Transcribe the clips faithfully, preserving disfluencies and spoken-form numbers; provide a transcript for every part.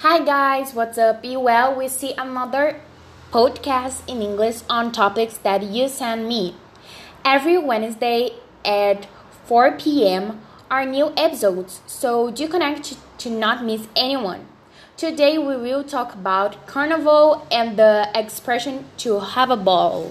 Hi guys, what's up? You well? We see another podcast in English on topics that you send me. Every Wednesday at four p.m. are new episodes, so do connect to not miss anyone. Today we will talk about carnival and the expression to have a ball.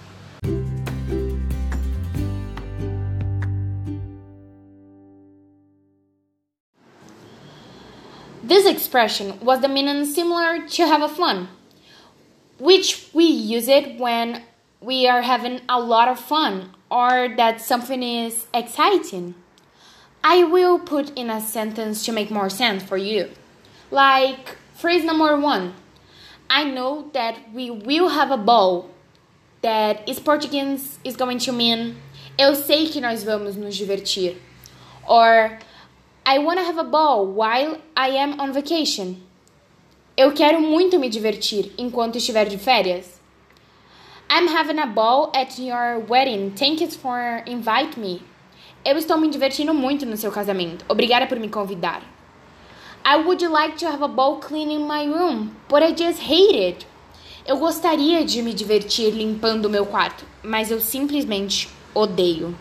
This expression was the meaning similar to have a fun, which we use it when we are having a lot of fun or that something is exciting. I will put in a sentence to make more sense for you. Like phrase number one. I know that we will have a ball. That is Portuguese is going to mean eu sei que nós vamos nos divertir. Or I want to have a ball while I am on vacation. Eu quero muito me divertir enquanto estiver de férias. I'm having a ball at your wedding. Thank you for inviting me. Eu estou me divertindo muito no seu casamento. Obrigada por me convidar. I would like to have a ball cleaning my room, but I just hate it. Eu gostaria de me divertir limpando o meu quarto, mas eu simplesmente odeio.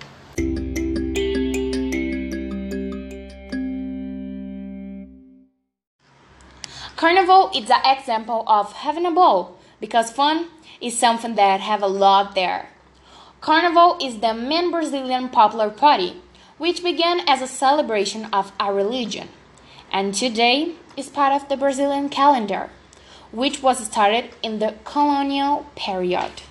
Carnival is an example of having a ball because fun is something that have a lot there. Carnival is the main Brazilian popular party, which began as a celebration of a religion, and today is part of the Brazilian calendar, which was started in the colonial period.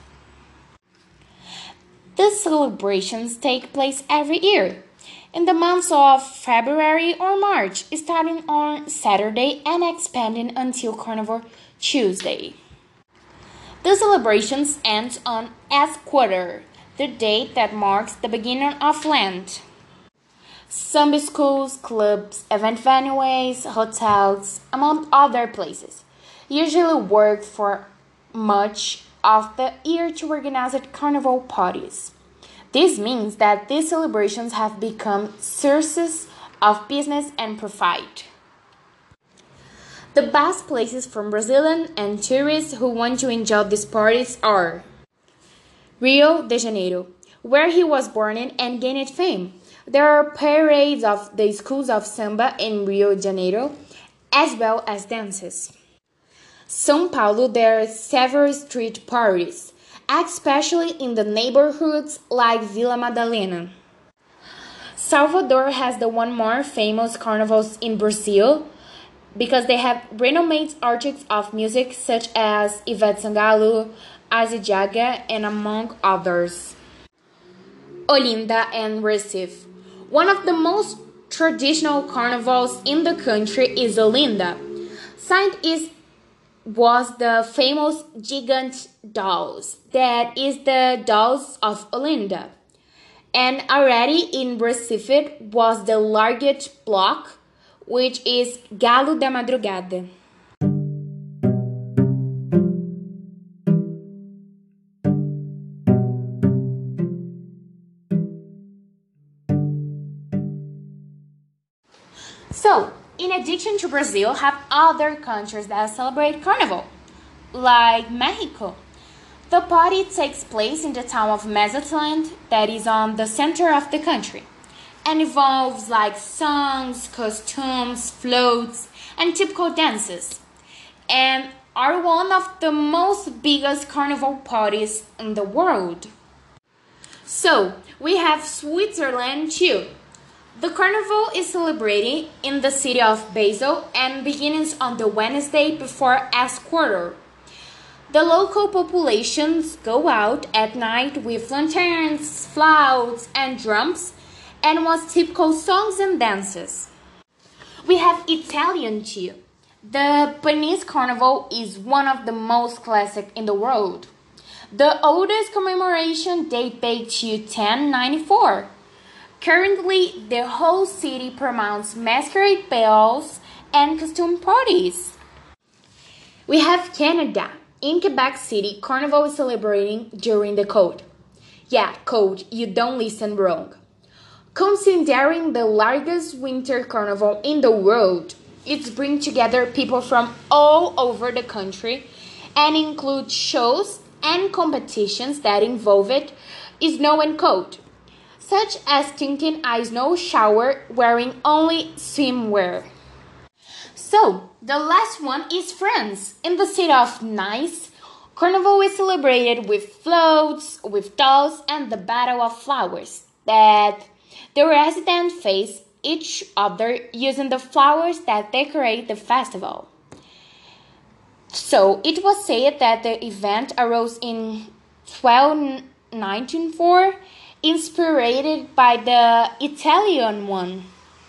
These celebrations take place every year, in the months of February or March, starting on Saturday and expanding until Carnival Tuesday. The celebrations end on Esquator, the date that marks the beginning of Lent. Some schools, clubs, event venues, hotels, among other places, usually work for much of the year to organize carnival parties. This means that these celebrations have become sources of business and profit. The best places for Brazilians and tourists who want to enjoy these parties are Rio de Janeiro, where he was born and gained fame. There are parades of the schools of samba in Rio de Janeiro, as well as dances. São Paulo, there are several street parties, especially in the neighborhoods like Vila Madalena. Salvador has the one more famous carnivals in Brazil because they have renowned artists of music such as Ivete Sangalo, Azzy Jaga, and among others. Olinda and Recife. One of the most traditional carnivals in the country is Olinda. Saint is was the famous Gigante dolls, that is the dolls of Olinda. And already in Recife was the largest block, which is Galo da Madrugada. So, in addition to Brazil, have other countries that celebrate Carnival, like Mexico. The party takes place in the town of Mazatlan, that is on the center of the country, and involves like songs, costumes, floats, and typical dances, and are one of the most biggest carnival parties in the world. So, we have Switzerland too. The carnival is celebrated in the city of Basel and begins on the Wednesday before Esquarter. The local populations go out at night with lanterns, flutes, and drums, and with typical songs and dances. We have Italian too. The Venice Carnival is one of the most classic in the world. The oldest commemoration date back to ten ninety-four. Currently, the whole city promotes masquerade balls and costume parties. We have Canada. In Quebec City, Carnival is celebrating during the cold. Yeah, cold, you don't listen wrong. Considering the largest winter carnival in the world, It brings together people from all over the country and includes shows and competitions that involve it snow and cold, such as taking a snow shower wearing only swimwear. So, the last one is France. In the city of Nice, Carnival is celebrated with floats, with dolls, and the Battle of Flowers that the residents face each other using the flowers that decorate the festival. So, it was said that the event arose in twelve ninety-four, inspired by the Italian one.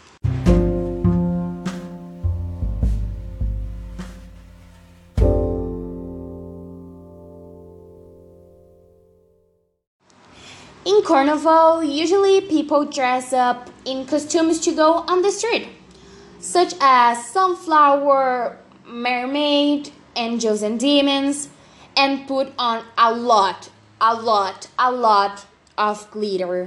In Carnival, usually people dress up in costumes to go on the street, such as sunflower, mermaid, angels and demons, and put on a lot, a lot, a lot of glitter.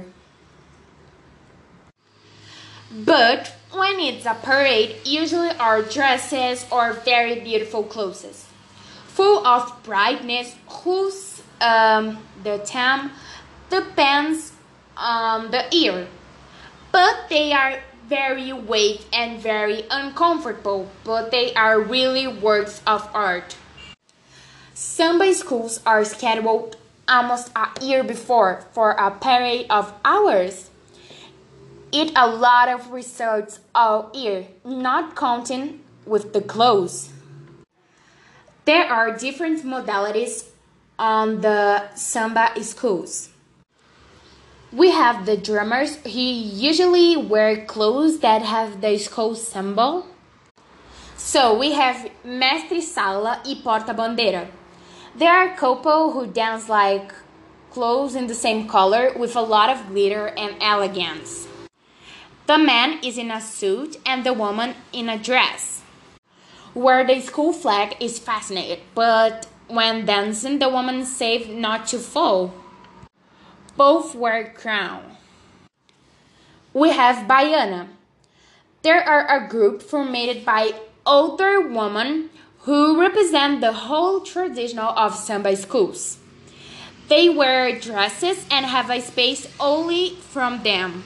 But when it's a parade, usually are dresses or very beautiful clothes, full of brightness, whose um, the theme depends on the year, but they are very weak and very uncomfortable, but they are really works of art. Samba schools are scheduled almost a year before for a parade of hours. Eat a lot of resorts all year, not counting with the clothes. There are different modalities on the samba schools. We have the drummers who usually wear clothes that have the school symbol. So we have Mestre Sala e Porta Bandeira. They are a couple who dance like clothes in the same color with a lot of glitter and elegance. The man is in a suit and the woman in a dress, where the school flag is fastened, but when dancing the woman saves not to fall. Both wear crown. We have Baiana. There are a group formed by older women who represent the whole tradition of samba schools. They wear dresses and have a space only from them.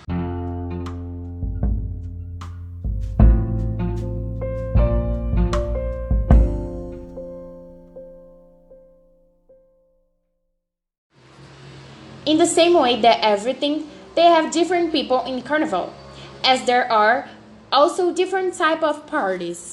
In the same way that everything, they have different people in Carnival, as there are also different type of parties.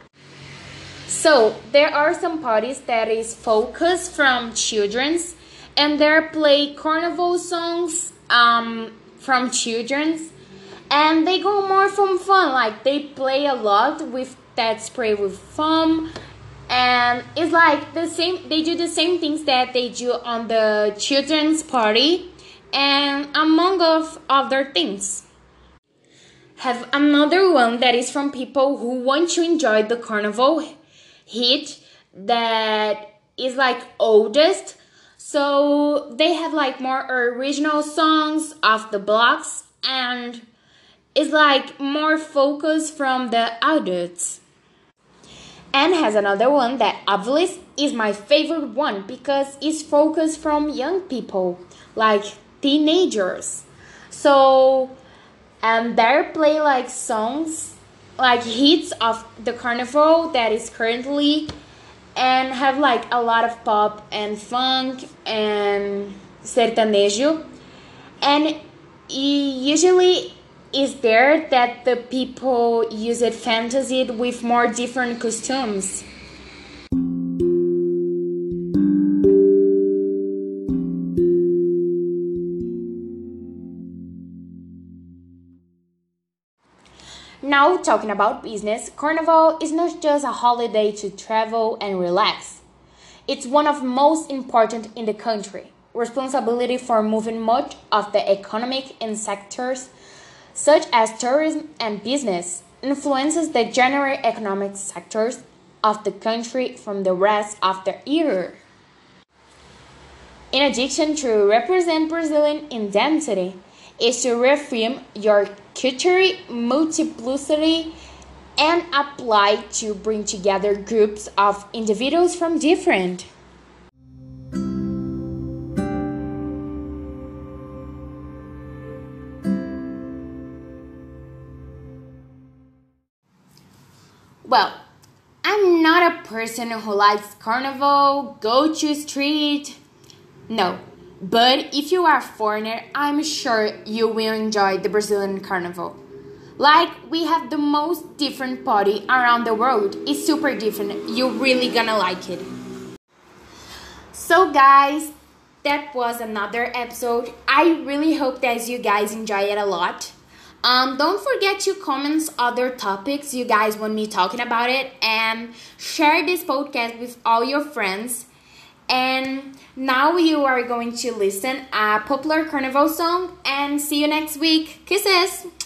So there are some parties that is focused from children's, and there play Carnival songs um, from children's, and they go more from fun, like they play a lot with that spray with foam. And it's like the same, they do the same things that they do on the children's party and among of other things. Have another one that is from people who want to enjoy the carnival hit that is like oldest. So they have like more original songs of the blocks and it's like more focus from the adults. And has another one that obviously is my favorite one because it's focused from young people, like teenagers. So, and they play like songs, like hits of the carnival that is currently, and have like a lot of pop and funk and sertanejo. And usually is there that the people use it fantasy with more different costumes. Now talking about business, Carnival is not just a holiday to travel and relax. It's one of most important in the country, responsibility for moving much of the economic in sectors such as tourism and business, influences the general economic sectors of the country from the rest of the year. In addition to represent Brazilian identity, is to reaffirm your cultural multiplicity and apply to bring together groups of individuals from different. Well, I'm not a person who likes carnival, go to street. No, but if you are a foreigner, I'm sure you will enjoy the Brazilian carnival. Like, we have the most different party around the world. It's super different. You're really gonna like it. So guys, that was another episode. I really hope that you guys enjoy it a lot. Um, don't forget to comment other topics you guys want me talking about it, and share this podcast with all your friends. And now you are going to listen a popular carnival song, and see you next week. Kisses!